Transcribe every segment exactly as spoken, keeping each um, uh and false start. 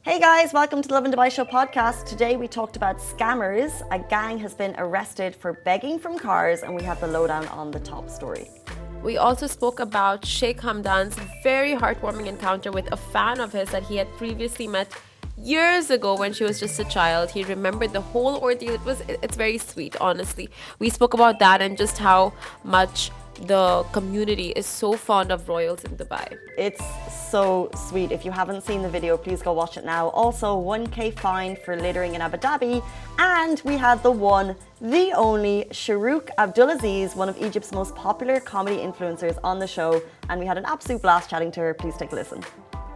Hey guys, welcome to the Love in Dubai Show podcast. Today we talked about scammers. A gang has been arrested for begging from cars, and we have the lowdown on the top story. We also spoke about Sheikh Hamdan's very heartwarming encounter with a fan of his that he had previously met years ago when she was just a child. He remembered the whole ordeal. It was, it's very sweet, honestly. We spoke about that and just how much the community is so fond of royals in Dubai. It's so sweet. If you haven't seen the video, please go watch it now. Also, one K fine for littering in Abu Dhabi. And we had the one, the only Shahrukh Abdulaziz, one of Egypt's most popular comedy influencers, on the show. And we had an absolute blast chatting to her. Please take a listen.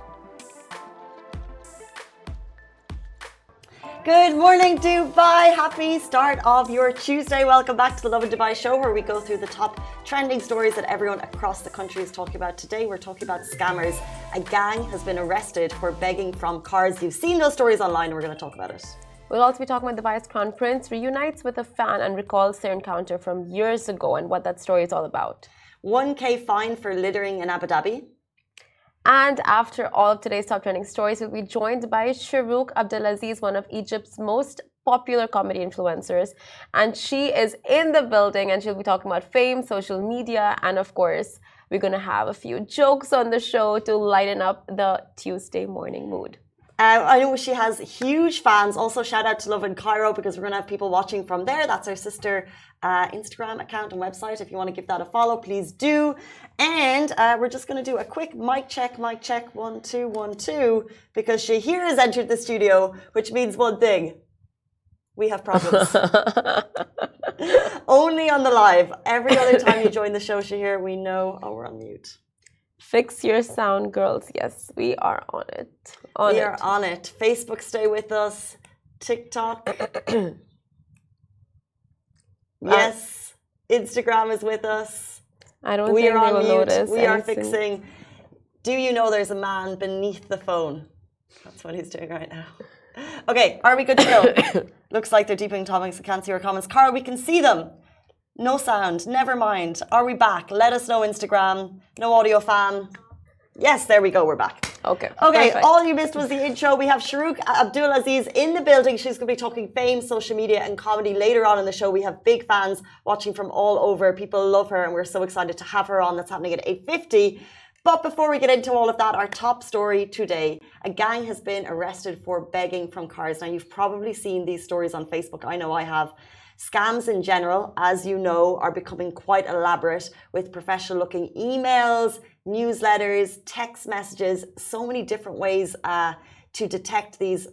Good morning, Dubai. Happy start of your Tuesday. Welcome back to the Love in Dubai show, where we go through the top trending stories that everyone across the country is talking about. Today, we're talking about scammers. A gang has been arrested for begging from cars. You've seen those stories online, and we're going to talk about it. We'll also be talking about Dubai's Crown Prince reunites with a fan and recalls their encounter from years ago and what that story is all about. one K fine for littering in Abu Dhabi. And after all of today's top trending stories, we'll be joined by Shahrukh Abdulaziz, one of Egypt's most popular comedy influencers. And she is in the building, and she'll be talking about fame, social media, and of course, we're going to have a few jokes on the show to lighten up the Tuesday morning mood. Uh, I know she has huge fans. Also, shout out to Love in Cairo, because we're going to have people watching from there. That's our sister uh, Instagram account and website. If you want to give that a follow, please do. And uh, we're just going to do a quick mic check, mic check, one, two, one, two, because Shahir has entered the studio, which means one thing. We have problems. Only on the live. Every other time you join the show, Shahir, we know, oh, we're on mute. Fix your sound, girls. Yes, we are on it. On we it. are on it. Facebook, stay with us. TikTok. Yes. Uh, Instagram is with us. I don't we think are they on will mute. notice We are anything. fixing. Do you know there's a man beneath the phone? That's what he's doing right now. Okay, are we good to go? Looks like they're deepening topics. I can't see your comments. Cara, we can see them. No sound. Never mind. Are we back? Let us know, Instagram. No audio fan. Yes, there we go. We're back. Okay. Okay, perfect. all you missed was the intro. We have Shahrukh Abdulaziz in the building. She's going to be talking fame, social media, and comedy later on in the show. We have big fans watching from all over. People love her, and we're so excited to have her on. That's happening at eight fifty. But before we get into all of that, our top story today, a gang has been arrested for begging from cars. Now, you've probably seen these stories on Facebook. I know I have. Scams in general, as you know, are becoming quite elaborate, with professional-looking emails, newsletters, text messages, so many different ways uh, to detect these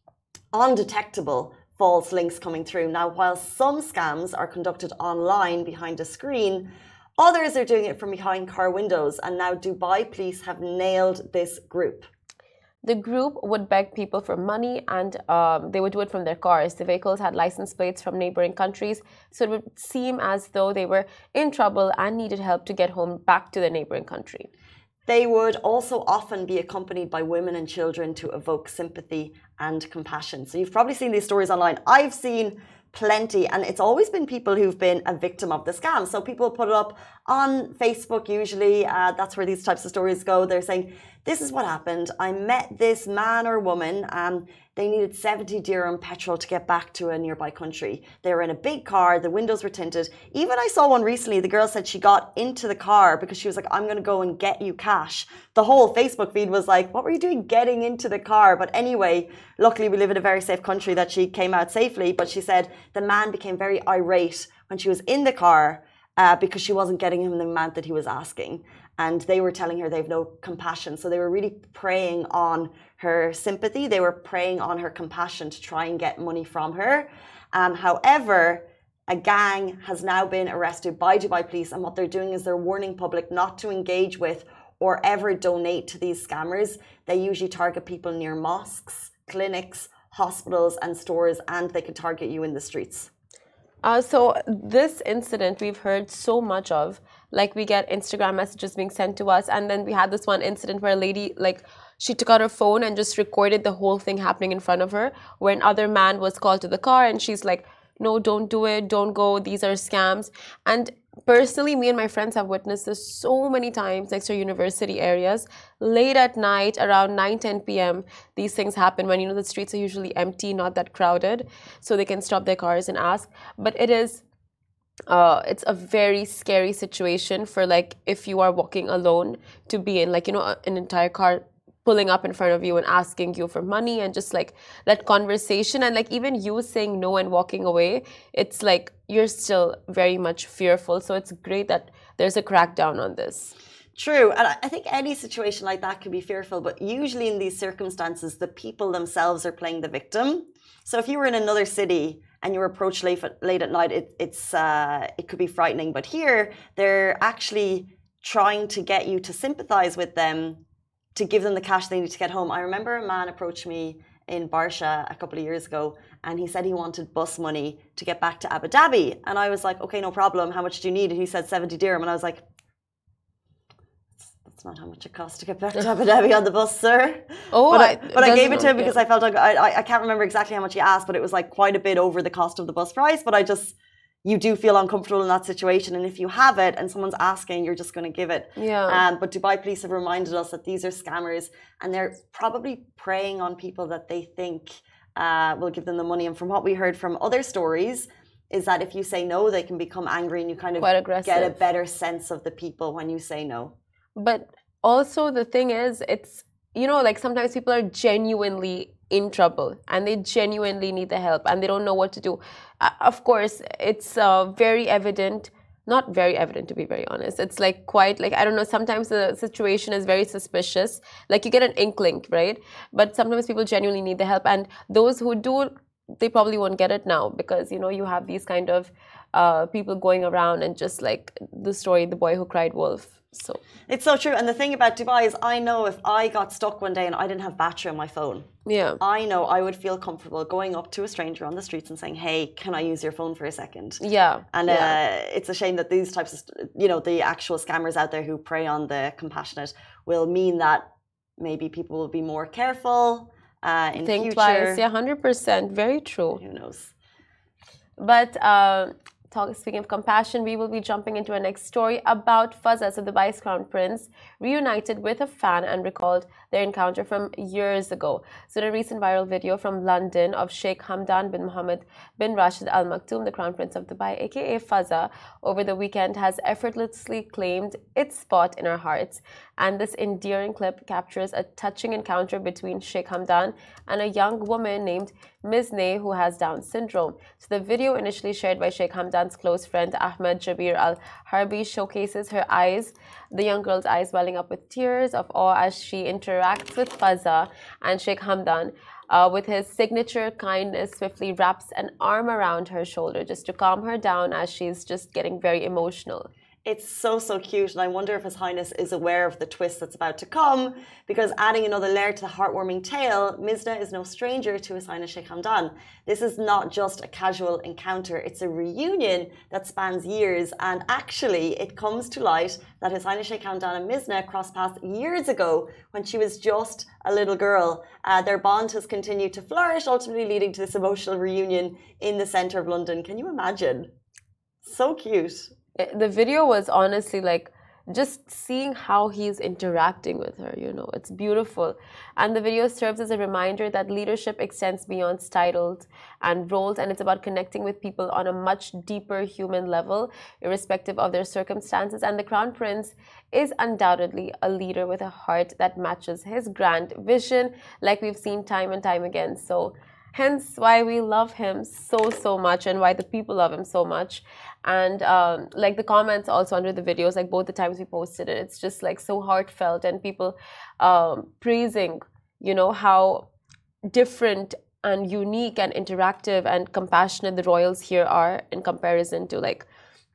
undetectable false links coming through. Now, while some scams are conducted online behind a screen, others are doing it from behind car windows, and now Dubai police have nailed this group. The group would beg people for money, and um, they would do it from their cars. The vehicles had license plates from neighboring countries, so it would seem as though they were in trouble and needed help to get home back to their neighboring country. They would also often be accompanied by women and children to evoke sympathy and compassion. So you've probably seen these stories online. I've seen plenty, and it's always been people who've been a victim of the scam. So people put it up on Facebook usually. Uh, that's where these types of stories go. They're saying, this is what happened. I met this man or woman. Um, they needed seventy dirham petrol to get back to a nearby country. They were in a big car. The windows were tinted. Even I saw one recently. The girl said she got into the car because she was like, I'm going to go and get you cash. The whole Facebook feed was like, what were you doing getting into the car? But anyway, luckily we live in a very safe country that she came out safely. But she said the man became very irate when she was in the car uh, because she wasn't getting him the amount that he was asking. And they were telling her they have no compassion. So they were really preying on her sympathy. They were preying on her compassion to try and get money from her. Um, however, a gang has now been arrested by Dubai police. And what they're doing is they're warning public not to engage with or ever donate to these scammers. They usually target people near mosques, clinics, hospitals and stores, and they can target you in the streets. Uh, so this incident we've heard so much of. Like, we get Instagram messages being sent to us, and then we had this one incident where a lady, like, she took out her phone and just recorded the whole thing happening in front of her, where another man was called to the car, and she's like, no, don't do it, don't go, these are scams. And personally, me and my friends have witnessed this so many times next to university areas. Late at night, around nine ten p m, these things happen when, you know, the streets are usually empty, not that crowded, so they can stop their cars and ask. But it is, uh, it's a very scary situation for, like, if you are walking alone to be in, like, you know, an entire car pulling up in front of you and asking you for money, and just like that conversation, and like even you saying no and walking away, it's like you're still very much fearful. So it's great that there's a crackdown on this. True, and I think any situation like that can be fearful, but usually in these circumstances, the people themselves are playing the victim. So if you were in another city and you were approached late, late at night, it, it's uh, it could be frightening. But here, they're actually trying to get you to sympathize with them, to give them the cash they need to get home. I remember a man approached me in Barsha a couple of years ago, and he said he wanted bus money to get back to Abu Dhabi. And I was like, okay, no problem. How much do you need? And he said seventy dirham. And I was like, that's not how much it costs to get back to Abu Dhabi on the bus, sir. Oh, but I, I, but I gave it to him yeah. because I felt like, I, I, I can't remember exactly how much he asked, but it was like quite a bit over the cost of the bus price. But I just, you do feel uncomfortable in that situation. And if you have it and someone's asking, you're just going to give it. Yeah. Um, but Dubai police have reminded us that these are scammers, and they're probably preying on people that they think uh, will give them the money. And from what we heard from other stories, is that if you say no, they can become angry, and you kind of get a better sense of the people when you say no. But also the thing is, it's, you know, like sometimes people are genuinely in trouble and they genuinely need the help and they don't know what to do. Uh, of course, it's uh, very evident, not very evident to be very honest. It's like quite like, I don't know, sometimes the situation is very suspicious. Like you get an inkling, right? But sometimes people genuinely need the help. And those who do, they probably won't get it now because, you know, you have these kind of uh, people going around and just like the story, the boy who cried wolf. So it's so true. And the thing about Dubai is I know if I got stuck one day and I didn't have battery on my phone, yeah, I know I would feel comfortable going up to a stranger on the streets and saying, hey, can I use your phone for a second? Yeah. And yeah. Uh, it's a shame that these types of, you know, the actual scammers out there who prey on the compassionate will mean that maybe people will be more careful uh, in Think future. twice. Yeah, one hundred percent. Very true. Who knows? But uh, talk, speaking of compassion, we will be jumping into our next story about Fazza, so the Dubai's Crown Prince, reunited with a fan and recalled their encounter from years ago. So in a recent viral video from London of Sheikh Hamdan bin Mohammed bin Rashid Al Maktoum, the Crown Prince of Dubai, aka Fazza, over the weekend has effortlessly claimed its spot in our hearts. And this endearing clip captures a touching encounter between Sheikh Hamdan and a young woman named Mizne who has Down syndrome. So the video, initially shared by Sheikh Hamdan's close friend Ahmed Jabir Al Harbi, showcases her eyes, the young girl's eyes welling up with tears of awe as she interacts with Fazza, and Sheikh Hamdan, uh, with his signature kindness, swiftly wraps an arm around her shoulder just to calm her down as she's just getting very emotional. It's so, so cute. And I wonder if His Highness is aware of the twist that's about to come, because adding another layer to the heartwarming tale, Mizna is no stranger to His Highness Sheikh Hamdan. This is not just a casual encounter. It's a reunion that spans years. And actually, it comes to light that His Highness Sheikh Hamdan and Mizna crossed paths years ago when she was just a little girl. Uh, their bond has continued to flourish, ultimately leading to this emotional reunion in the centre of London. Can you imagine? So cute. The video was honestly like just seeing how he's interacting with her, you know, it's beautiful. And the video serves as a reminder that leadership extends beyond titles and roles, and it's about connecting with people on a much deeper human level, irrespective of their circumstances. And the Crown Prince is undoubtedly a leader with a heart that matches his grand vision, like we've seen time and time again. So hence why we love him so, so much, and why the people love him so much. And um, like the comments also under the videos, like both the times we posted it, it's just like so heartfelt, and people um, praising, you know, how different and unique and interactive and compassionate the royals here are in comparison to like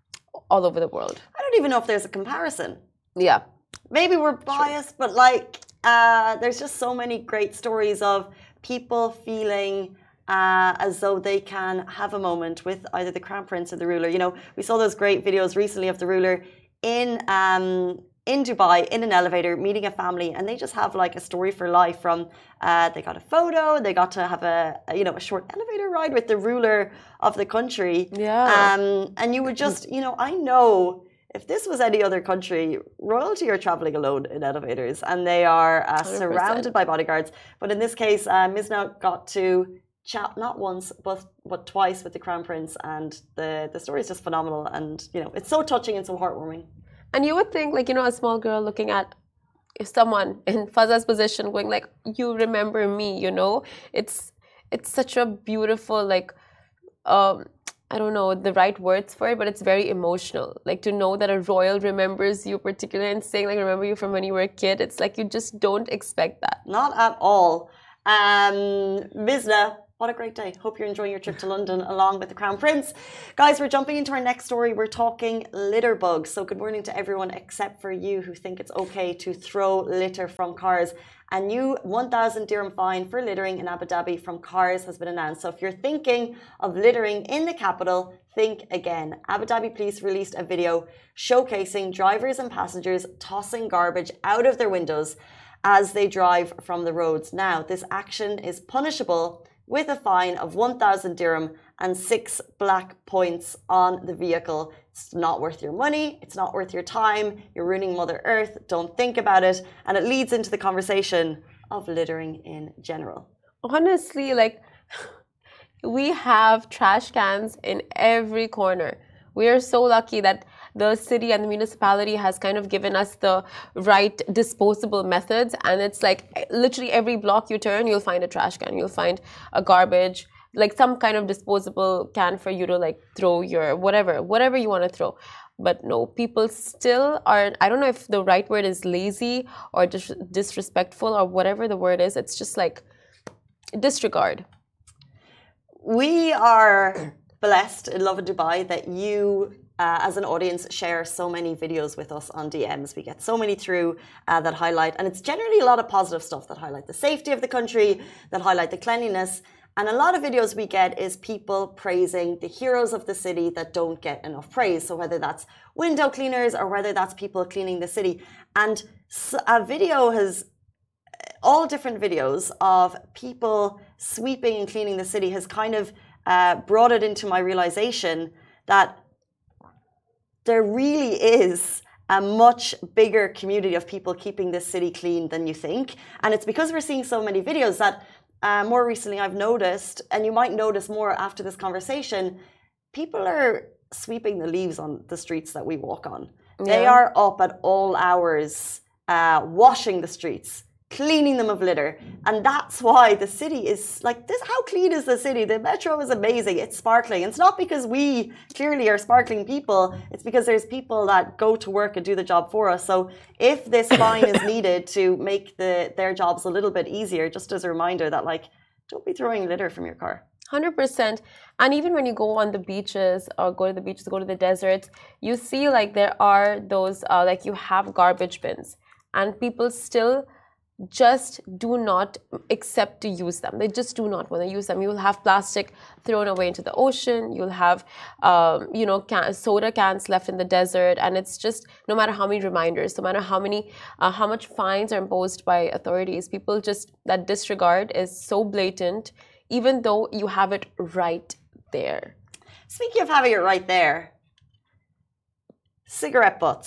all over the world. I don't even know if there's a comparison. Yeah. Maybe we're biased, sure. But like uh, there's just so many great stories of people feeling Uh, as though they can have a moment with either the Crown Prince or the ruler. You know, we saw those great videos recently of the ruler in um, in Dubai in an elevator, meeting a family, and they just have like a story for life. From uh, they got a photo, they got to have a, a you know a short elevator ride with the ruler of the country. Yeah. Um, and you would just you know I know if this was any other country, royalty are traveling alone in elevators, and they are uh, surrounded by bodyguards. But in this case, uh, Mizna got to chat not once but but twice with the crown prince, and the the story is just phenomenal, and you know it's so touching and so heartwarming. And you would think, like, you know, a small girl looking at someone in Faza's position going like, you remember me, you know? It's it's such a beautiful, like, um, I don't know the right words for it, but it's very emotional. Like, to know that a royal remembers you particularly and saying, like, remember you from when you were a kid. It's like you just don't expect that. Not at all. Um, Mizna, what a great day. Hope you're enjoying your trip to London along with the Crown Prince. Guys, we're jumping into our next story. We're talking litter bugs. So good morning to everyone except for you who think it's okay to throw litter from cars. A new one thousand dirham fine for littering in Abu Dhabi from cars has been announced. So if you're thinking of littering in the capital, think again. Abu Dhabi police released a video showcasing drivers and passengers tossing garbage out of their windows as they drive from the roads. Now, this action is punishable with a fine of one thousand dirham and six black points on the vehicle. It's not worth your money. It's not worth your time. You're ruining Mother Earth. Don't think about it. And it leads into the conversation of littering in general. Honestly, like, we have trash cans in every corner. We are so lucky that the city and the municipality has kind of given us the right disposable methods, and it's like literally every block you turn, you'll find a trash can, you'll find a garbage, like some kind of disposable can for you to like throw your whatever, whatever you want to throw. But no, people still are, I don't know if the right word is lazy or dis disrespectful or whatever the word is. It's just like disregard. We are blessed in Lovin Dubai that you Uh, as an audience, share so many videos with us on D Ms. We get so many through uh, that highlight, and it's generally a lot of positive stuff that highlight the safety of the country, that highlight the cleanliness. And a lot of videos we get is people praising the heroes of the city that don't get enough praise. So whether that's window cleaners or whether that's people cleaning the city. And a video has, all different videos of people sweeping and cleaning the city has kind of uh, brought it into my realization that there really is a much bigger community of people keeping this city clean than you think. And it's because we're seeing so many videos that uh, more recently I've noticed, and you might notice more after this conversation, people are sweeping the leaves on the streets that we walk on. Yeah. They are up at all hours, uh, washing the streets, cleaning them of litter. And that's why the city is like this. How clean is the city? The metro is amazing. It's sparkling. It's not because we clearly are sparkling people. It's because there's people that go to work and do the job for us. So if this fine is needed to make the their jobs a little bit easier, just as a reminder that, like, don't be throwing litter from your car. one hundred percent. And even when you go on the beaches or go to the beaches, go to the deserts, you see like there are those, uh, like you have garbage bins and people still just do not accept to use them. They just do not want to use them. You'll have plastic thrown away into the ocean. You'll have, um, you know, can soda cans left in the desert. And it's just, no matter how many reminders, no matter how many, uh, how much fines are imposed by authorities, people just, that disregard is so blatant, even though you have it right there. Speaking of having it right there, cigarette butts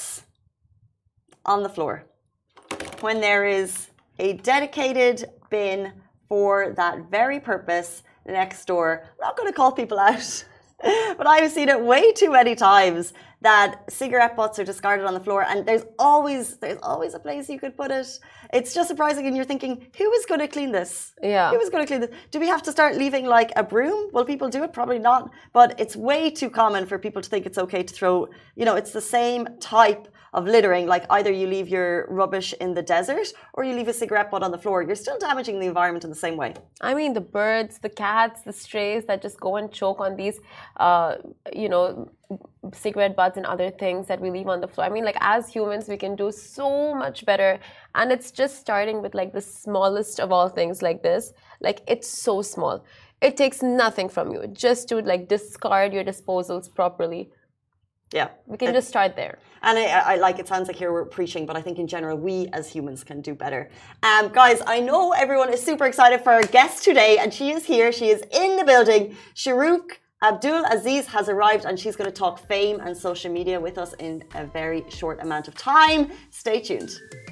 on the floor. When there is a dedicated bin for that very purpose next door. I'm not going to call people out, but I've seen it way too many times that cigarette butts are discarded on the floor, and there's always there's always a place you could put it. It's just surprising, and you're thinking, who is going to clean this? Yeah. Who is going to clean this? Do we have to start leaving like a broom? Will people do it? Probably not. But it's way too common for people to think it's okay to throw, you know, it's the same type of littering, like either you leave your rubbish in the desert or you leave a cigarette butt on the floor. You're still damaging the environment in the same way. I mean, the birds, the cats, the strays that just go and choke on these, uh, you know, cigarette butts and other things that we leave on the floor. I mean, like, as humans, we can do so much better. And it's just starting with like the smallest of all things like this. Like, it's so small. It takes nothing from you just to like discard your disposals properly. Yeah. We can just start there. And I, I like, it sounds like here we're preaching, but I think in general, we as humans can do better. Um, guys, I know everyone is super excited for our guest today, and she is here. She is in the building. Shahrukh Abdul Aziz has arrived, and she's going to talk fame and social media with us in a very short amount of time. Stay tuned.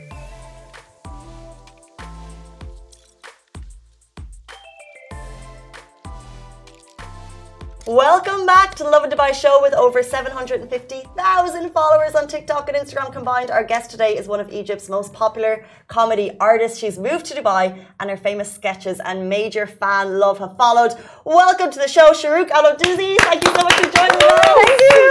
Welcome back to the Lovin Dubai show with over seven hundred fifty thousand followers on TikTok and Instagram combined. Our guest today is one of Egypt's most popular comedy artists. She's moved to Dubai and her famous sketches and major fan love have followed. Welcome to the show, Shahrukh Abdul Aziz. Thank you so much for joining us. Thank you.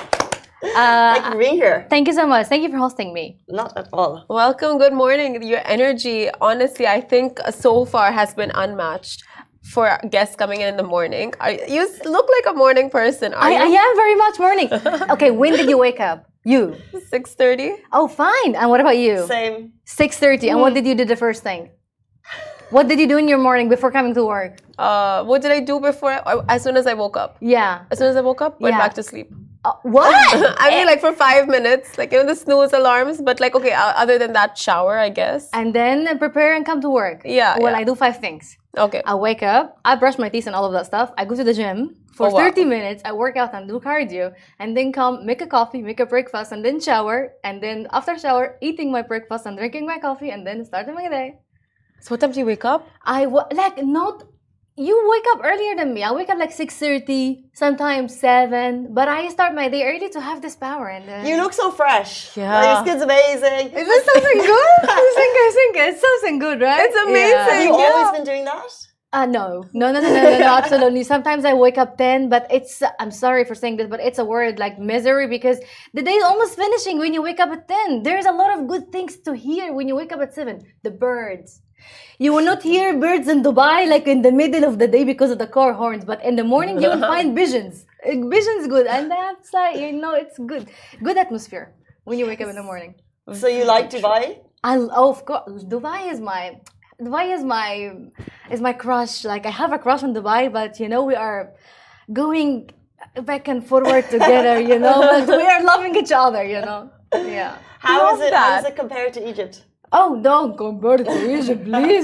Uh, Thank you for being here. Thank you so much. Thank you for hosting me. Not at all. Welcome. Good morning. Your energy, honestly, I think so far has been unmatched. For guests coming in in the morning. Are, you look like a morning person, are I, you? I am very much morning. Okay, when did you wake up? You? six thirty. Oh, fine. And what about you? Same. six thirty. Mm. And what did you do the first thing? What did you do in your morning before coming to work? Uh, what did I do before? As soon as I woke up. Yeah. As soon as I woke up, went yeah. back to sleep. Uh, what? I mean, like for five minutes, like, you know, the snooze alarms, but like, okay, other than that, shower, I guess. And then prepare and come to work. Yeah. Well, yeah. I do five things. Okay. I wake up, I brush my teeth and all of that stuff. I go to the gym for oh, wow. thirty minutes. I work out and do cardio, and then come make a coffee, make a breakfast, and then shower. And then after shower, eating my breakfast and drinking my coffee, and then starting my day. So what time do you wake up? I like not. You wake up earlier than me. I wake up like six thirty, sometimes seven. But I start my day early to have this power. And uh, You look so fresh. Yeah. Like, your skin's amazing. Is this something good? I think I think it's something good, right? It's amazing. Yeah. Have you Yeah. always been doing that? Uh, no. No, no, no, no, no, no, absolutely. Sometimes I wake up ten, but it's, I'm sorry for saying this, but it's a word like misery because the day is almost finishing when you wake up at ten. There's a lot of good things to hear when you wake up at seven. The birds. You will not hear birds in Dubai like in the middle of the day because of the car horns, but in the morning you will find visions. Visions good, and that's like, you know, it's good. Good atmosphere when you wake up in the morning. So you like Dubai? I, oh, of course, Dubai is my... Dubai is my is my crush. Like I have a crush on Dubai, but you know we are going back and forward together. You know, but we are loving each other. You know, yeah. How Love is it? that. How is it compared to Egypt? Oh, don't compare it to Egypt, please.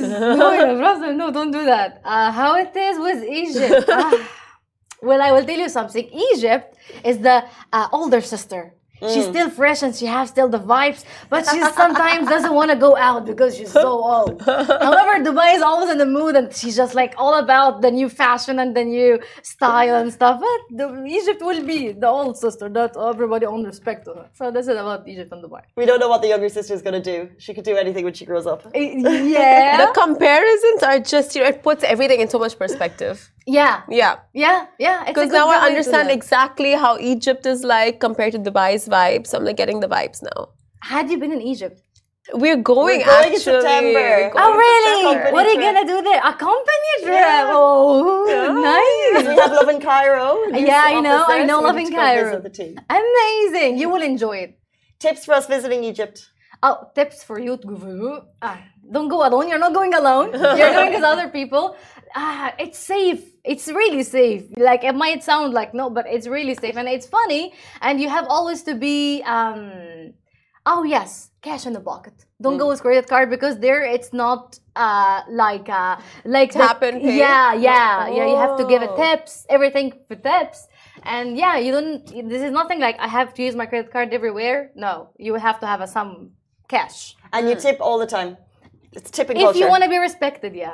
No, no, don't do that. Uh, how it is with Egypt? Ah. Well, I will tell you something. Egypt is the uh, older sister. Mm. She's still fresh and she has still the vibes, but she sometimes doesn't want to go out because she's so old. However, Dubai is always in the mood and she's just like all about the new fashion and the new style and stuff. But the, Egypt will be the old sister that everybody on respect to her. So this is about Egypt and Dubai. We don't know what the younger sister is going to do. She could do anything when she grows up. Yeah. The comparisons are just, you know, it puts everything in so much perspective. Yeah. Yeah. Yeah. Yeah. Because now I understand exactly how Egypt is like compared to Dubai's vibes. So I'm like getting the vibes now. Had you been in Egypt? We're going, We're going actually. in September. We're going Oh, in really? September. What are you going to do there? A company trip? Yeah. Oh, Because nice. we have Love in Cairo. Yeah, I know. I know Love in Cairo. Visit the team. Amazing. You will enjoy it. Tips for us visiting Egypt. Oh, tips for you to go. Ah, don't go alone. You're not going alone. You're going with other people. Ah, it's safe. It's really safe. Like it might sound like no, but it's really safe and it's funny. And you have always to be. Um, oh yes, cash in the pocket. Don't mm. go with credit card because there it's not uh, like uh, like tap the, and pay. Yeah, yeah, oh. yeah. You have to give it Oh. tips. Everything for tips. And yeah, you don't. This is nothing like I have to use my credit card everywhere. No, you have to have a some cash. And you tip all the time. It's tipping If culture. you want to be respected, yeah.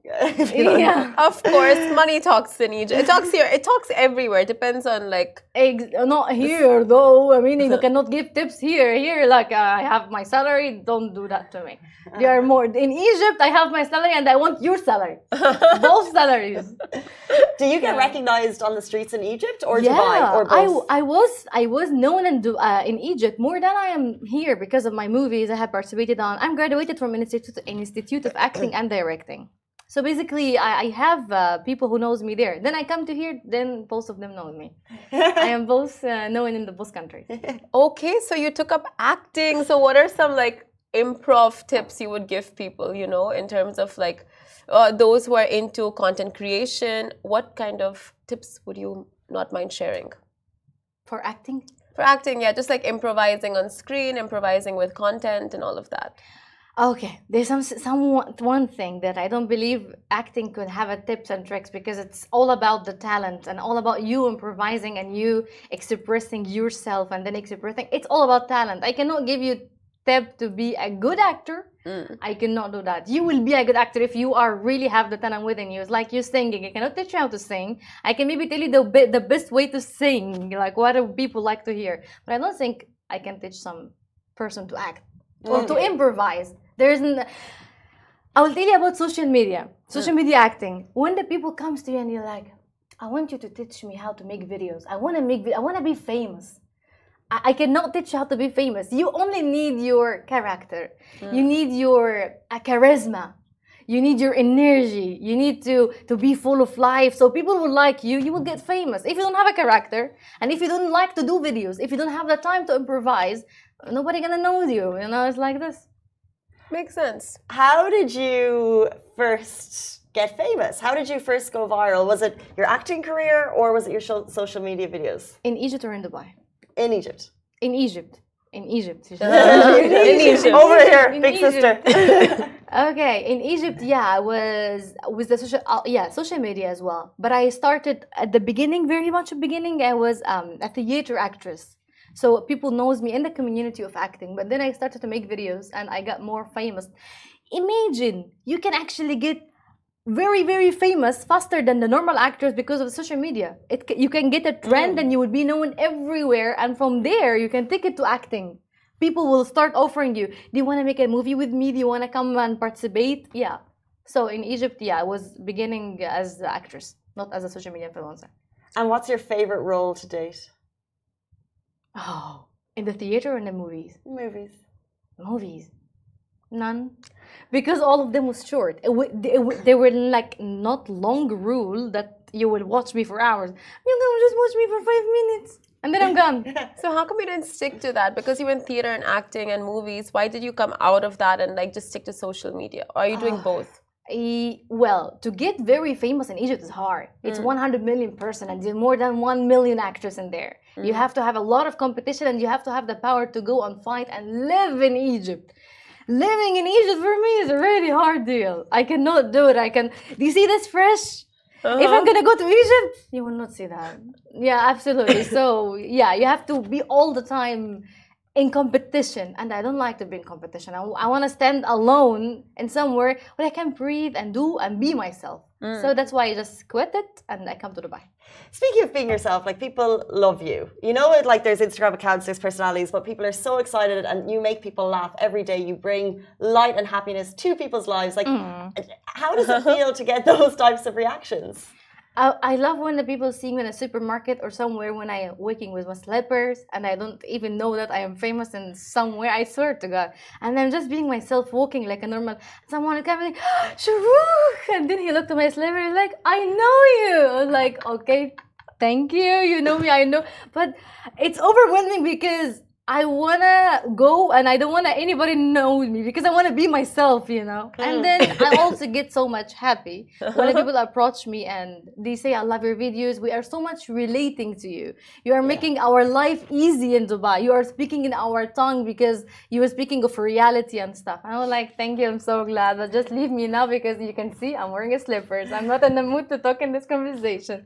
Yeah. Of course, money talks in Egypt. It talks here. It talks everywhere. It depends on like. Ex- not here though. I mean, you cannot give tips here. Here, like uh, I have my salary. Don't do that to me. You are more in Egypt. I have my salary, and I want your salary. Both salaries. Do you get yeah. recognized on the streets in Egypt or yeah, Dubai or both? I, I was I was known in uh, in Egypt more than I am here because of my movies I have participated on. I'm graduated from an institute, an institute of acting and directing. So basically, I, I have uh, people who knows me there. Then I come to here, then both of them know me. I am both uh, known in the both countries. Okay, so you took up acting. So what are some like improv tips you would give people, you know, in terms of like uh, those who are into content creation? What kind of tips would you not mind sharing? For acting? For acting, yeah, just like improvising on screen, improvising with content and all of that. Okay, there's some some one thing that I don't believe acting could have a tips and tricks, because it's all about the talent and all about you improvising and you expressing yourself and then expressing. It's all about talent. I cannot give you tip to be a good actor. Mm. I cannot do that. You will be a good actor if you are really have the talent within you. It's like you singing. I cannot teach you how to sing. I can maybe tell you the be- the best way to sing, like what do people like to hear. But I don't think I can teach some person to act or mm. to improvise. There isn't. I will tell you about social media, social media acting. When the people comes to you and you're like, I want you to teach me how to make videos. I want to make. I want to be famous. I, I cannot teach you how to be famous. You only need your character. Mm. You need your uh, charisma. You need your energy. You need to to be full of life. So people will like you. You will get famous. If you don't have a character and if you don't like to do videos, if you don't have the time to improvise, nobody gonna know you. You know, it's like this. Makes sense. How did you first get famous? How did you first go viral? Was it your acting career or was it your social media videos? In Egypt or in Dubai? In Egypt. In Egypt. In Egypt. Uh, in, in Egypt. Over here, in big Egypt. Sister. Okay, in Egypt, yeah, I was with the social, uh, yeah, social media as well. But I started at the beginning, very much at the beginning. I was um, a theater actress. So people knows me in the community of acting, but then I started to make videos and I got more famous. Imagine you can actually get very, very famous faster than the normal actors because of social media. It you can get a trend mm. and you will be known everywhere, and from there you can take it to acting. People will start offering you, do you want to make a movie with me? Do you want to come and participate? Yeah. So in Egypt, yeah, I was beginning as an actress, not as a social media influencer. And what's your favorite role to date? Oh, in the theater or in the movies? Movies. Movies. None. Because all of them was short. It w- it w- they were like not long rule that you will watch me for hours. You can just watch me for five minutes and then I'm gone. So how come you didn't stick to that? Because you were in theater and acting and movies. Why did you come out of that and like just stick to social media? Or are you doing uh, both? E- well, to get very famous in Egypt is hard. It's mm. one hundred million person and there's more than one million actors in there. Mm. You have to have a lot of competition and you have to have the power to go and fight and live in Egypt. Living in Egypt for me is a really hard deal. I cannot do it. I can. Do you see this fresh? Uh-huh. If I'm gonna go to Egypt, you will not see that. Yeah, absolutely. So yeah, you have to be all the time in competition, and I don't like to be in competition. I, I want to stand alone in somewhere where I can breathe and do and be myself. Mm. So that's why I just quit it and I come to Dubai. Speaking of being yourself, like people love you. You know, it like there's Instagram accounts, there's personalities, but people are so excited and you make people laugh every day. You bring light and happiness to people's lives. Like, mm. how does it feel to get those types of reactions? I, I love when the people see me in a supermarket or somewhere when I am walking with my slippers and I don't even know that I am famous in somewhere, I swear to God. And I'm just being myself, walking like a normal, someone will come and like, Sharouk! And then he looked at my slipper like, I know you! I was like, okay, thank you, you know me, I know. But it's overwhelming because I wanna go and I don't wanna anybody know me because I wanna be myself, you know. Mm. And then I also get so much happy when people approach me and they say, I love your videos. We are so much relating to you. You are making yeah. our life easy in Dubai. You are speaking in our tongue because you are speaking of reality and stuff. And I was like, thank you, I'm so glad. But just leave me now because you can see I'm wearing a slippers. I'm not in the mood to talk in this conversation.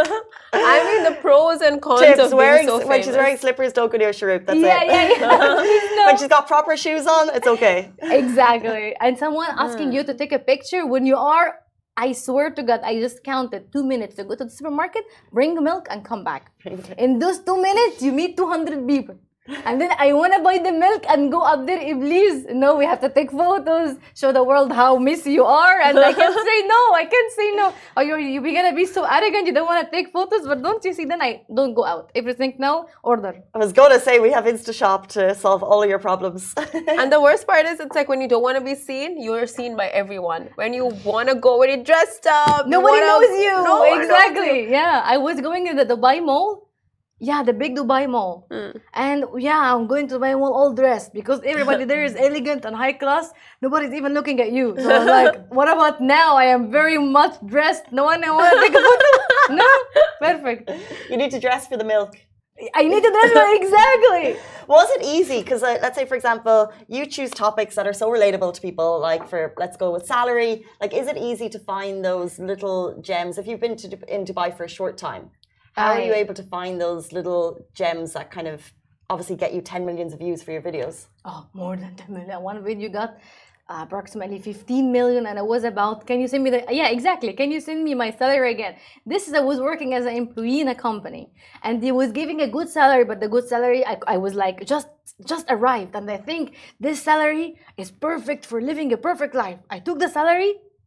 I mean the pros and cons Tips, of wearing, being so when she's wearing slippers, don't go near Sharouk. That's yeah, it. Yeah, yeah, no. When she's got proper shoes on, it's okay. Exactly. And someone asking mm. you to take a picture when you are, I swear to God, I just counted two minutes to go to the supermarket, bring milk and come back. In those two minutes, you meet two hundred people. And then I want to buy the milk and go up there, Iblis. No, we have to take photos, show the world how messy you are. And I can't say no, I can't say no. Oh, you're, you're going to be so arrogant, you don't want to take photos, but don't you see, then I don't go out. If you think no, order. I was going to say, we have InstaShop to solve all your problems. And the worst part is, it's like when you don't want to be seen, you're seen by everyone. When you want to go, when you're dressed up. Nobody you knows you. No, exactly. Yeah, I was going in the Dubai Mall. Yeah, the big Dubai Mall. Mm. And yeah, I'm going to Dubai Mall all dressed because everybody there is elegant and high class. Nobody's even looking at you. So I'm like, what about now? I am very much dressed. No one I want to take a photo. No? Perfect. You need to dress for the milk. I needed that exactly. Was it easy? Because uh, let's say, for example, you choose topics that are so relatable to people, like for, let's go with salary. Like, is it easy to find those little gems? If you've been to, in Dubai for a short time, how are you I- able to find those little gems that kind of obviously get you ten millions of views for your videos? Oh, more than ten million. One video got uh, approximately fifteen million, and it was about, can you send me the, yeah, exactly. Can you send me my salary again? This is, I was working as an employee in a company, and they was giving a good salary, but the good salary, I, I was like, just, just arrived, and I think this salary is perfect for living a perfect life. I took the salary,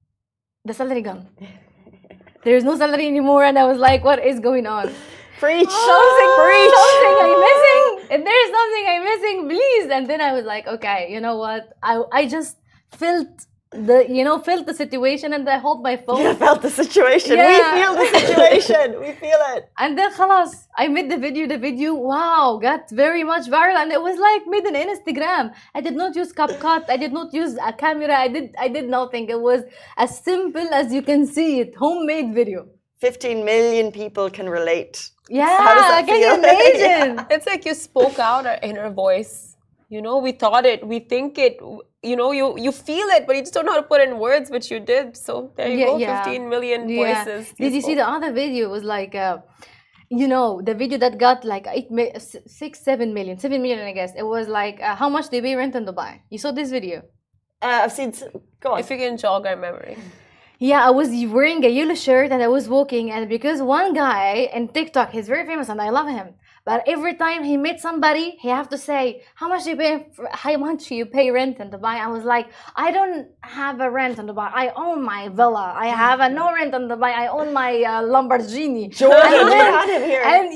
the salary gone. There's no salary anymore, and I was like, what is going on? Preach! Something, Preach! something I'm missing. If there's something I'm missing, please. And then I was like, okay, you know what? I I just felt the, you know, felt the situation, and I hold my phone. You felt the situation. Yeah. We feel the situation. We feel it. And then khalas, I made the video. The video, wow, got very much viral, and it was like made on Instagram. I did not use CapCut. I did not use a camera. I did I did nothing. It was as simple as you can see it. Homemade video. fifteen million people can relate. Yeah, How does that can you feel? imagine? It's like you spoke out our inner voice. You know, we thought it, we think it, you know, you you feel it, but you just don't know how to put it in words, which you did. So there you Yeah, go, yeah. fifteen million voices. Did you see spoke. the other video? It was like, uh, you know, the video that got like eight, mi- s- six, seven million, seven million, I guess. It was like, uh, how much they pay rent in Dubai? You saw this video? Uh, I've seen. s- Go on. If you can jog our memory. Yeah, I was wearing a yellow shirt and I was walking, and because one guy in TikTok, he's very famous and I love him. But every time he met somebody, he have to say, how much you pay, for, how much you pay rent in Dubai? I was like, I don't have a rent in Dubai. I own my villa. I have a no rent in Dubai. I own my uh, Lamborghini. Jordan, And you then- had him here. And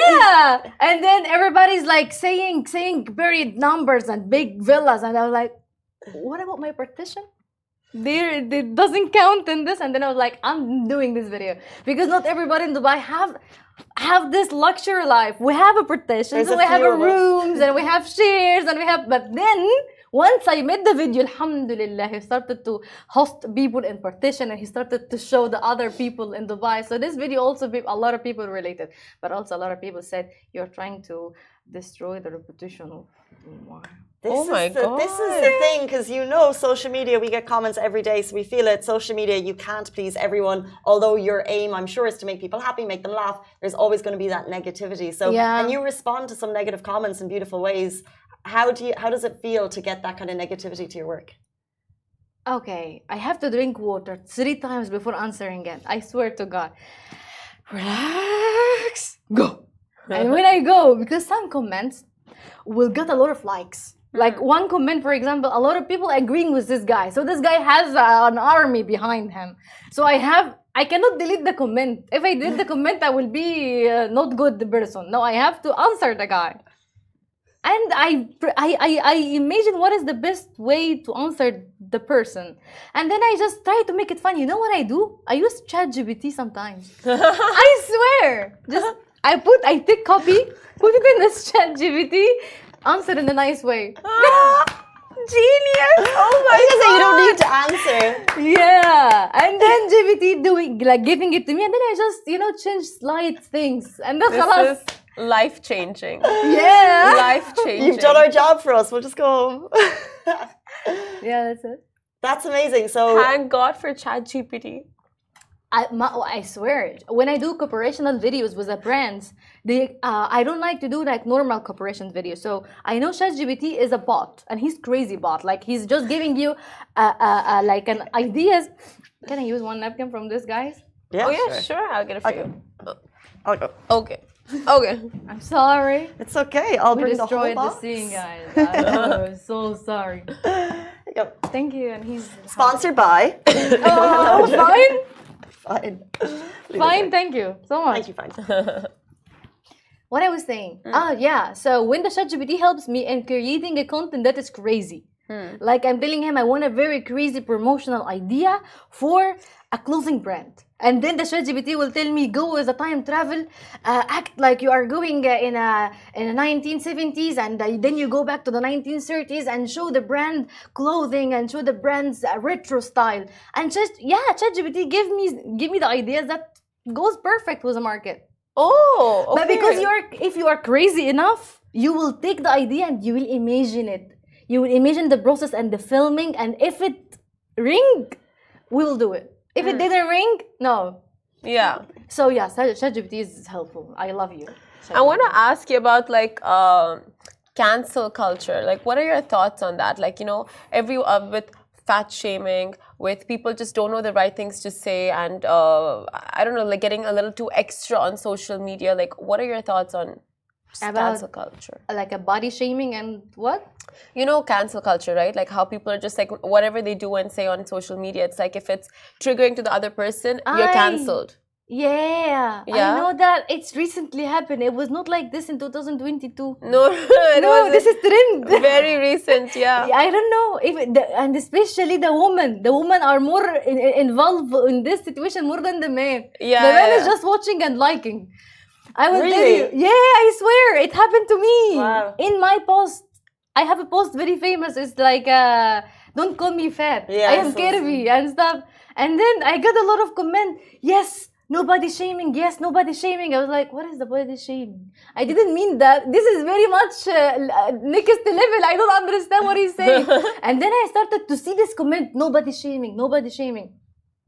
yeah, and then everybody's like saying, saying very numbers and big villas, and I was like, what about my partition? There, it doesn't count in this. And then I was like, I'm doing this video because not everybody in Dubai have have this luxury life. We have a partition, There's so a we have few a of us. rooms, and we have shares, and we have. But then once I made the video, alhamdulillah, he started to host people in partition, and he started to show the other people in Dubai. So this video also, be- a lot of people related, but also a lot of people said you're trying to destroy the reputation of Dubai. This Oh is my the, This is the thing, because you know, social media, we get comments every day, so we feel it. Social media, you can't please everyone. Although your aim, I'm sure, is to make people happy, make them laugh. There's always going to be that negativity. So, Yeah. and you respond to some negative comments in beautiful ways. How do you? How does it feel to get that kind of negativity to your work? Okay, I have to drink water three times before answering it. I swear to God. Relax, go. And when I go, because some comments will get a lot of likes. Like one comment, for example, a lot of people agreeing with this guy. So this guy has uh, an army behind him. So I have, I cannot delete the comment. If I delete the comment, I will be uh, not good person. No, I have to answer the guy. And I, I, I, I imagine what is the best way to answer the person. And then I just try to make it fun. You know what I do? I use ChatGPT sometimes. I swear. Just, I put, I take copy, put it in this ChatGPT, answer in a nice way. Genius! Oh my I was gonna say, you don't god! need to answer. Yeah. And then G P T doing, like giving it to me. And then I just, you know, change slight things. And then This khalas. is life changing. Yeah. Life changing. You've done our job for us. We'll just go home. Yeah, that's it. That's amazing. So, Thank God for ChatGPT. I, my, I swear, when I do corporational videos with the brands, they uh, I don't like to do like normal corporation videos. So I know ChatGPT is a bot, and he's crazy bot. Like he's just giving you uh, uh, uh, like an ideas. Can I use one napkin from this, guys? yeah, Oh yeah, sure. sure. I'll get it for Okay. you. I'll go. Okay. Okay. I'm sorry. It's okay. I'll We bring the whole destroyed the box. scene, guys. I'm so sorry. There you go. Thank you, and he's Sponsored by. oh, fine, Fine. fine. Thank you so much. Thank you, fine. What I was saying. Oh, yeah. So when the ChatGPT helps me in creating a content that is crazy. Like I'm telling him I want a very crazy promotional idea for a clothing brand. And then the ChatGPT will tell me, go with a time travel, uh, act like you are going uh, in a in the nineteen seventies, and uh, then you go back to the nineteen thirties and show the brand clothing and show the brand's uh, retro style. And just, yeah, ChatGPT give me, give me the ideas that goes perfect with the market. Oh, okay. But because you're, if you are crazy enough, you will take the idea and you will imagine it. You will imagine the process and the filming, and if it ring, we will do it. If it didn't ring, no. Yeah. So yeah, ChatGPT is helpful. I love you. I want to ask you about like uh, cancel culture. Like, what are your thoughts on that? Like, you know, every uh, with fat shaming, with people just don't know the right things to say, and uh, I don't know, like getting a little too extra on social media. Like, what are your thoughts on About, cancel culture? Like a body shaming and what? You know, cancel culture, right? Like how people are just like whatever they do and say on social media. It's like if it's triggering to the other person, you're I- cancelled. Yeah, Yeah? I know that it's recently happened. It was not like this in two thousand twenty-two. No, it No, was this is trend. very recent. Yeah. I don't know if it- the, and especially the women. The women are more in, in- involved in this situation more than the man. Yeah, the man yeah, is yeah. just watching and liking. I will tell Really? you. Yeah, I swear it happened to me. Wow. In my post, I have a post very famous. It's like, uh, "Don't call me fat. Yeah, I am so- curvy and stuff." And then I got a lot of comment. Yes. Nobody shaming, yes, nobody shaming. I was like, what is the body shaming? I didn't mean that. This is very much uh, next level. I don't understand what he's saying. And then I started to see this comment, nobody shaming, nobody shaming.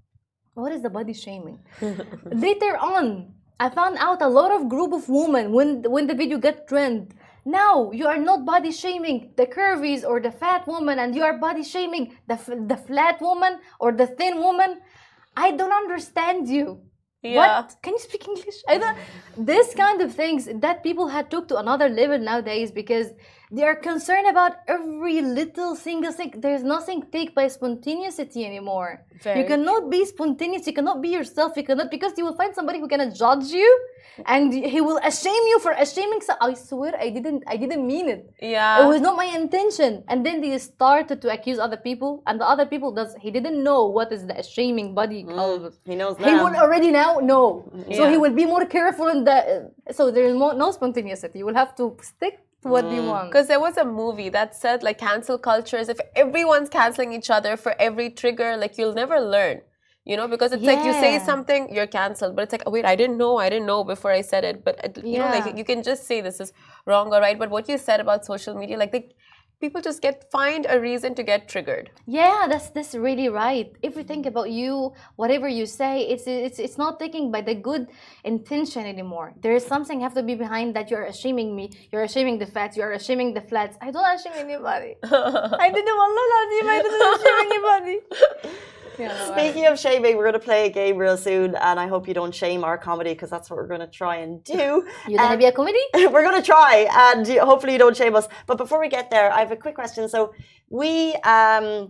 What is the body shaming? Later on, I found out a lot of group of women when, when the video got trend. Now, you are not body shaming the curvies or the fat woman, and you are body shaming the, f- the flat woman or the thin woman. I don't understand you. Yeah. What? Can you speak English? I don't. This kind of things that people had took to another level nowadays because they are concerned about every little single thing. There's nothing take by spontaneity anymore. Very You cannot be spontaneous. You cannot be yourself. You cannot, because you will find somebody who cannot judge you, and he will shame you for shaming. So I swear I didn't. I didn't mean it. Yeah. It was not my intention. And then they started to accuse other people, and the other people does. He didn't know what is the shaming body called. He knows He now. will already now know. So Yeah. he will be more careful in the. So there is more, no spontaneity. You will have to stick to what you want. Because there was a movie that said like cancel culture is if everyone's canceling each other for every trigger, like you'll never learn. You know, because it's like you say Yeah. something, you're cancelled. But it's like, oh, wait, I didn't know, I didn't know before I said it. But it- you know, Yeah. like you can just say this is wrong or right. But what you said about social media, like they, people just get find a reason to get triggered. Yeah, that's that's really right. If you think about you, whatever you say, it's it's it's not taken by the good intention anymore. There is something have to be behind that. You're shaming me. You're shaming the fats. You're shaming the flats. I don't shame anybody. I didn't wallah lazim. I didn't shame anybody. Yeah, no, I- Speaking of shaming, we're going to play a game real soon, and I hope you don't shame our comedy because that's what we're going to try and do. you gonna Um, be a comedy? we're going to try, and you- hopefully you don't shame us. But before we get there, I have a quick question. So we um,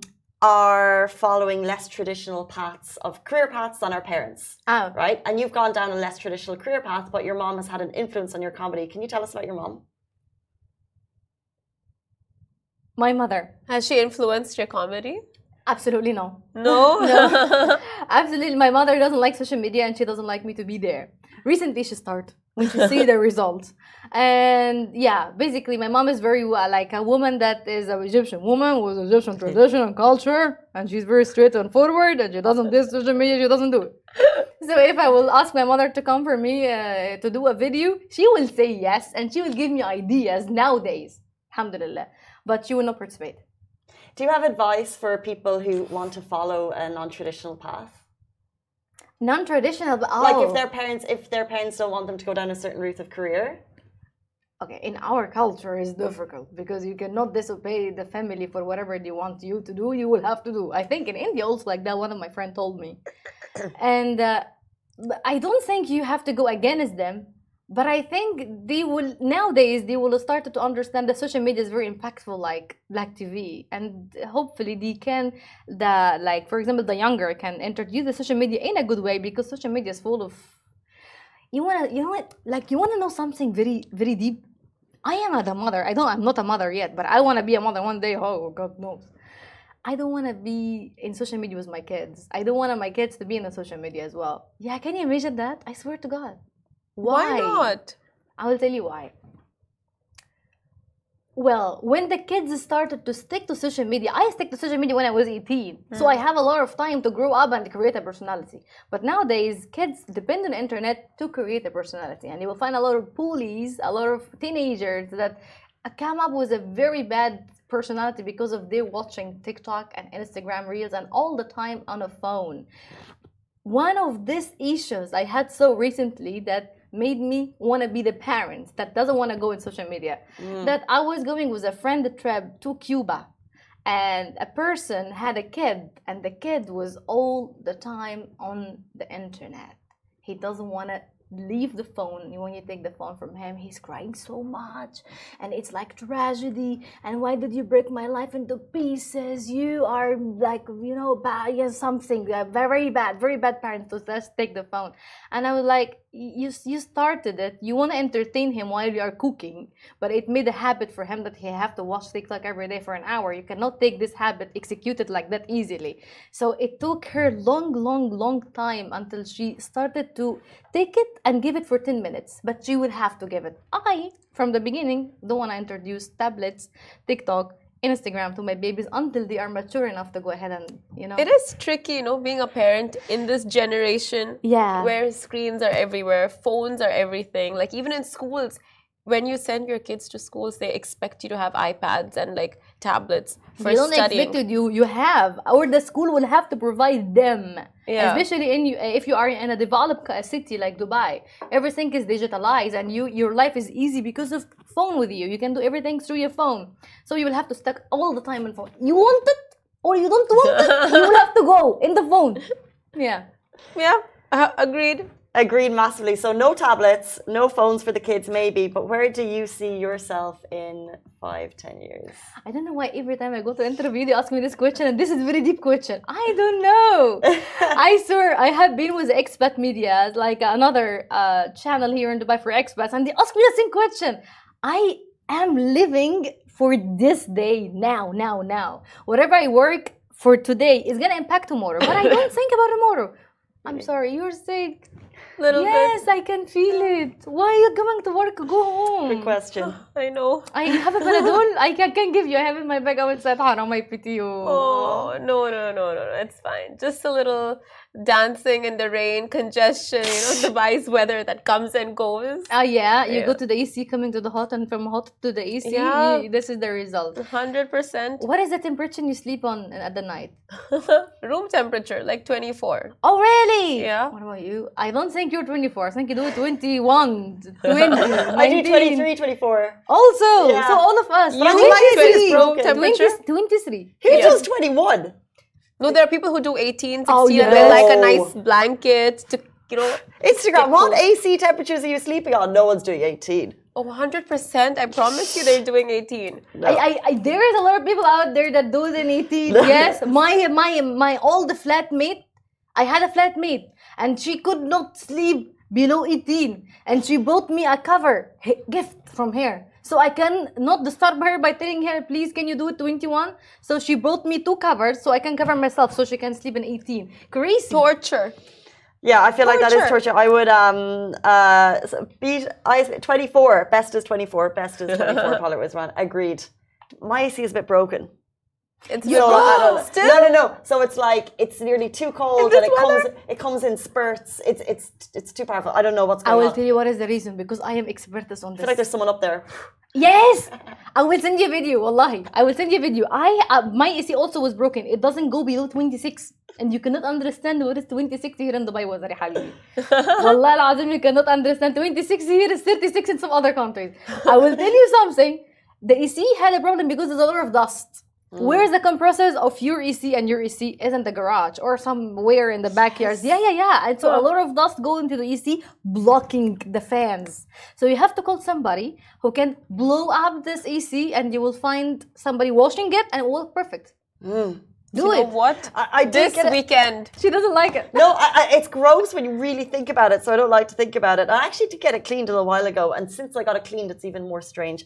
are following less traditional paths of career paths than our parents, Oh, right? And you've gone down a less traditional career path, but your mom has had an influence on your comedy. Can you tell us about your mom? my mother. Has she influenced your comedy? Absolutely no. No. No. Absolutely, my mother doesn't like social media and she doesn't like me to be there. Recently, she started when she see the results, and yeah, basically, my mom is very uh, like a woman that is an Egyptian woman with Egyptian tradition and culture, and she's very straight and forward, and she doesn't do social media. She doesn't do it. So if I will ask my mother to come for me uh, to do a video, she will say yes, and she will give me ideas nowadays. Alhamdulillah, but she will not participate. Do you have advice for people who want to follow a non-traditional path? Non-traditional, but oh. Like if their parents, if their parents don't want them to go down a certain route of career. Okay, in our culture it's difficult because you cannot disobey the family for whatever they want you to do. You will have to do. I think in India also like that. One of my friends told me, and uh, but I don't think you have to go against them. But I think they will nowadays they will start to understand that social media is very impactful, like Black T V, and hopefully they can the like for example the younger can introduce the social media in a good way because social media is full of. You wanna you know what like you wanna know something very very deep. I am a mother. I don't. I'm not a mother yet, but I want to be a mother one day. Oh, God knows. I don't want to be in social media with my kids. I don't want my kids to be in the social media as well. Yeah, can you imagine that? I swear to God. Why not? I will tell you why. Well, when the kids started to stick to social media, I stick to social media when I was eighteen. Mm. So I have a lot of time to grow up and create a personality. But nowadays, kids depend on the internet to create a personality. And you will find a lot of bullies, a lot of teenagers that come up with a very bad personality because of their watching TikTok and Instagram Reels and all the time on a phone. One of these issues I had so recently that made me want to be the parent that doesn't want to go in social media. Mm. That I was going with a friend trip to Cuba, and a person had a kid, and the kid was all the time on the internet. He doesn't want to leave the phone. When you take the phone from him, he's crying so much, and it's like tragedy. And why did you break my life into pieces? You are like, you know, bad, yeah, something uh, very bad, very bad parent. So let's take the phone. And I was like, you you started it. You want to entertain him while you are cooking, but it made a habit for him that he have to watch TikTok every day for an hour. You cannot take this habit, execute it like that easily. So it took her long, long, long time until she started to take it and give it for ten minutes, but she would have to give it. I, from the beginning, don't want to introduce tablets, TikTok, Instagram to my babies until they are mature enough to go ahead and, you know. It is tricky, you know, being a parent in this generation. Yeah. Where screens are everywhere, phones are everything. Like even in schools, when you send your kids to schools, they expect you to have iPads and like tablets for you don't studying. expect it, you you have, or the school will have to provide them. Yeah. Especially in if you are in a developed city like Dubai, everything is digitalized, and you your life is easy because of phone with you. You can do everything through your phone, so you will have to stuck all the time on phone. You want it or you don't want it, you will have to go in the phone. Yeah. Yeah. Uh, agreed. Agreed massively. So no tablets, no phones for the kids maybe, but where do you see yourself in five, ten years? I don't know why every time I go to interview they ask me this question, and this is a very deep question. I don't know. I swear I have been with expat media, like another uh, channel here in Dubai for expats, and they ask me the same question. I am living for this day, now, now, now. Whatever I work for today is gonna impact tomorrow, but I don't think about tomorrow. I'm sorry, you're sick. Little yes, bit. I can feel it. Why are you going to work? Go home. Good question. I know. I have a Panadol. I can, can give you. I have in my bag. I will say, "Haram, I pity you." Oh no no no no no! It's fine. Just a little dancing in the rain, congestion. You know, Dubai's weather that comes and goes. Ah, uh, yeah. You yeah. go to the A C, coming to the hot, and from hot to the A C. Yeah. You, this is the result. Hundred percent. What is the temperature you sleep on at the night? Room temperature, like twenty-four. Oh really? Yeah. What about you? I don't think you're twenty-four. I think you do twenty-one, twenty. I do twenty-three, twenty-four. Also, yeah. so all of us. You twenty-three room temperature. twenty-three. Who Yeah. does twenty-one? No, there are people who do eighteen, sixteen, Oh, yeah. and they like a nice blanket to, you know. Instagram, what A C temperatures are you sleeping on? No one's doing eighteen. Oh, one hundred percent. I promise you they're doing eighteen. No. I, I, I, there is a lot of people out there that do it in eighteen. Yes, my my my old flatmate, I had a flatmate, and she could not sleep below eighteen, and she bought me a cover gift from her, so I can not disturb her by telling her, please can you do it twenty-one. So she bought me two covers so I can cover myself so she can sleep in eighteen. Crazy. Torture. Yeah, I feel like that is Torture. torture. I would um uh beat I twenty-four. Best is twenty-four. Best is twenty-four. Paula was wrong. Agreed. My A C is a bit broken. It's So, I don't know. still. No, no, no. So it's like it's nearly too cold, In this and it comes weather? it comes in spurts. It's it's it's too powerful. I don't know what's I going will on. tell you what is the reason, because I am expertise on I this. feel like there's someone up there. Yes, I will send you a video. Wallahi, I will send you a video. I uh, my A C also was broken. It doesn't go below twenty-six, and you cannot understand what is twenty-six here in Dubai. Was حبيبي. Wallah al-azim, you cannot understand twenty-six here is thirty-six in some other countries. I will tell you something. The A C had a problem because there's a lot of dust. Mm. Where's the compressors of your A C, and your A C is in the garage or somewhere in the backyards? Yeah, yeah, yeah. And so a lot of dust go into the A C, blocking the fans. So you have to call somebody who can blow up this A C, and you will find somebody washing it, and it will work perfect. Mm. Do you it. know what? I, I did This get it. weekend. She doesn't like it. No, I, I, it's gross when you really think about it. So I don't like to think about it. I actually did get it cleaned a little while ago, and since I got it cleaned, it's even more strange.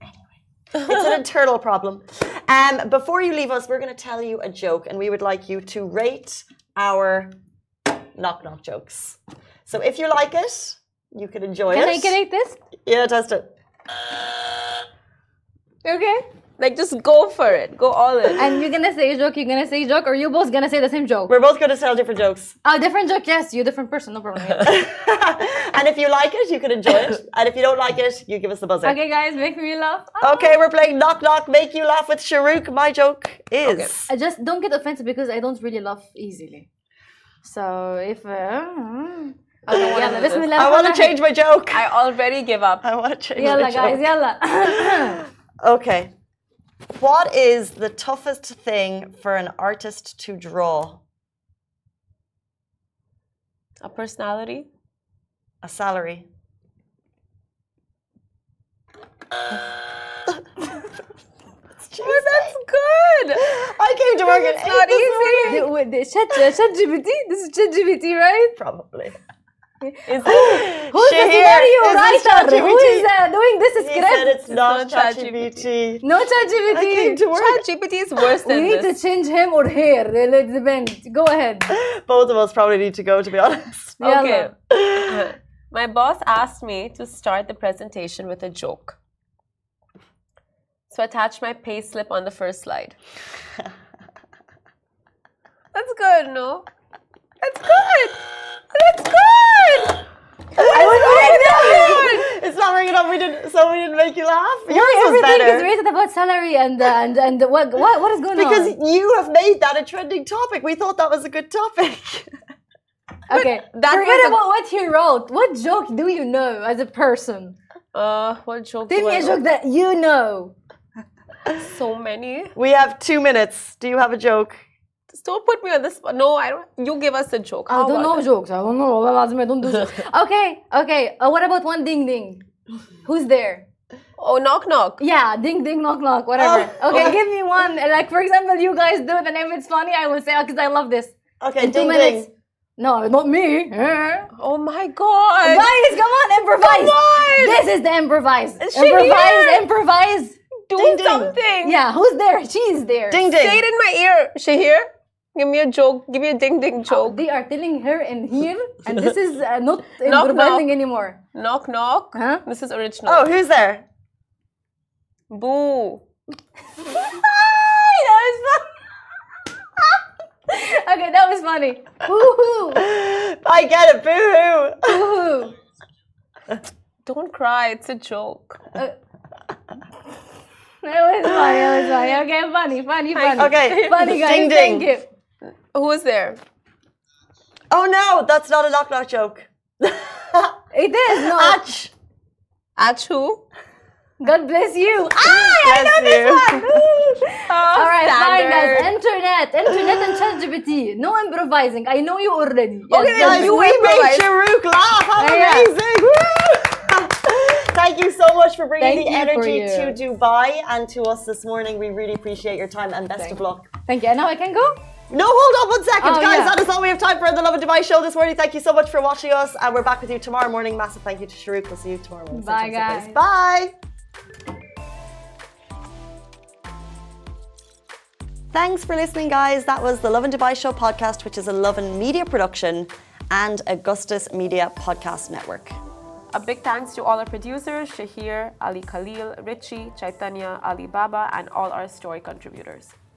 It's an internal problem. Um, before you leave us, we're going to tell you a joke, and we would like you to rate our knock knock jokes. So if you like it, you can enjoy Can it. I can I this? Yeah, test it. Okay. Like, just go for it. Go all in. And you're gonna say a joke, you're gonna say a joke, or you both gonna say the same joke? We're both going to tell different jokes. Oh, different joke, yes. You're a different person, no problem. And if you like it, you can enjoy it. And if you don't like it, you give us the buzzer. Okay, guys, make me laugh. Oh. Okay, we're playing Knock Knock, Make You Laugh with Shahrukh. My joke is... Okay. I just don't get offended because I don't really laugh easily. So if... Uh, I don't wanna Yalla, do this. Bismillah. I want to change my joke. I already give up. I want to change Yalla, my joke. guys, yalla. Okay. What is the toughest thing for an artist to draw? A personality? A salary. Oh, that's good. I came to work at It's not eight this easy. morning. The- with the Chat Chat G P T? This is Chat G P T, right? Probably. Is it? Who's the Shahir, scenario is this writer? ChatGPT? Who is uh, doing this He script? said it's not not ChatGPT. No Chat I came G P T. to work. ChatGPT is worse We than need to this. change him or her. It depends. Go ahead. Both of us probably need to go, to be honest. Okay. Yalla. My boss asked me to start the presentation with a joke. So I attached my pay slip on the first slide. That's good, no? That's good. That's good. I was doing that. It's not ringing up. We didn't. So we didn't make you laugh. Yours was Everything better. is rated about salary and uh, and and what what what is going Because on? you have made that a trending topic. We thought that was a good topic. Okay, that forget was a- about what he wrote. What joke do you know as a person? Uh, what joke Tell do me I a joke that you know. So many. We have two minutes. Do you have a joke? Just don't put me on this spot. No, I don't. You give us a joke. I How don't about know that? jokes. I don't know. Wallah lazim, I don't do jokes. Okay, okay. Uh, what about one ding ding? Who's there? Oh, knock knock. Yeah, ding ding knock knock, whatever. Oh, okay, okay. give me one. Like for example, you guys do it, and if it's funny, I will say because I love this. Okay, In two ding minutes. ding. No, not me. Eh. Oh my god. Guys, come on, improvise. Come on. This is the improvise. Shahir. Improvise, improvise. Do Ding, ding. something. Yeah, who's there? She's there. Ding ding. Say it in my ear. Shahir, give me a joke. Give me a ding ding joke. They are telling her in here, and this is uh, not Knock, improvising knock. anymore. Knock knock. Huh? This is original. Oh, who's there? Boo. that was fun. Okay, that was funny. Woohoo! I get it. Boo hoo. Woohoo! Don't cry. It's a joke. It was funny. It was funny. Okay, funny, funny, funny. Okay. Funny guys. Ding, ding. Thank you. Who is there? Oh no, that's not a knock knock joke. It is no. Atch. Ach who? God bless you. Ah, I Bless know this you. one. Oh, All right, fine, guys. standard. Internet, internet, and ChatGPT. No improvising. I know you already. Yes, Okay, yes. Guys, you we made improvise. Shahrukh laugh. How Yeah. amazing. Woo! Thank you so much for bringing Thank the you for energy you. to Dubai and to us this morning. We really appreciate your time and best Thank of you. luck. Thank you. And now I can go. No, hold on one second, Oh, guys. yeah. That is all we have time for in the Love and Dubai show this morning. Thank you so much for watching us, and we're back with you tomorrow morning. Massive thank you to Shahrukh. We'll see you tomorrow morning. Bye, Same time, same place. guys. Bye. Thanks for listening, guys. That was the Love and Dubai Show podcast, which is a Love and Media production and Augustus Media Podcast Network. A big thanks to all our producers, Shahir, Ali Khalil, Richie, Chaitanya, Ali Baba, and all our story contributors.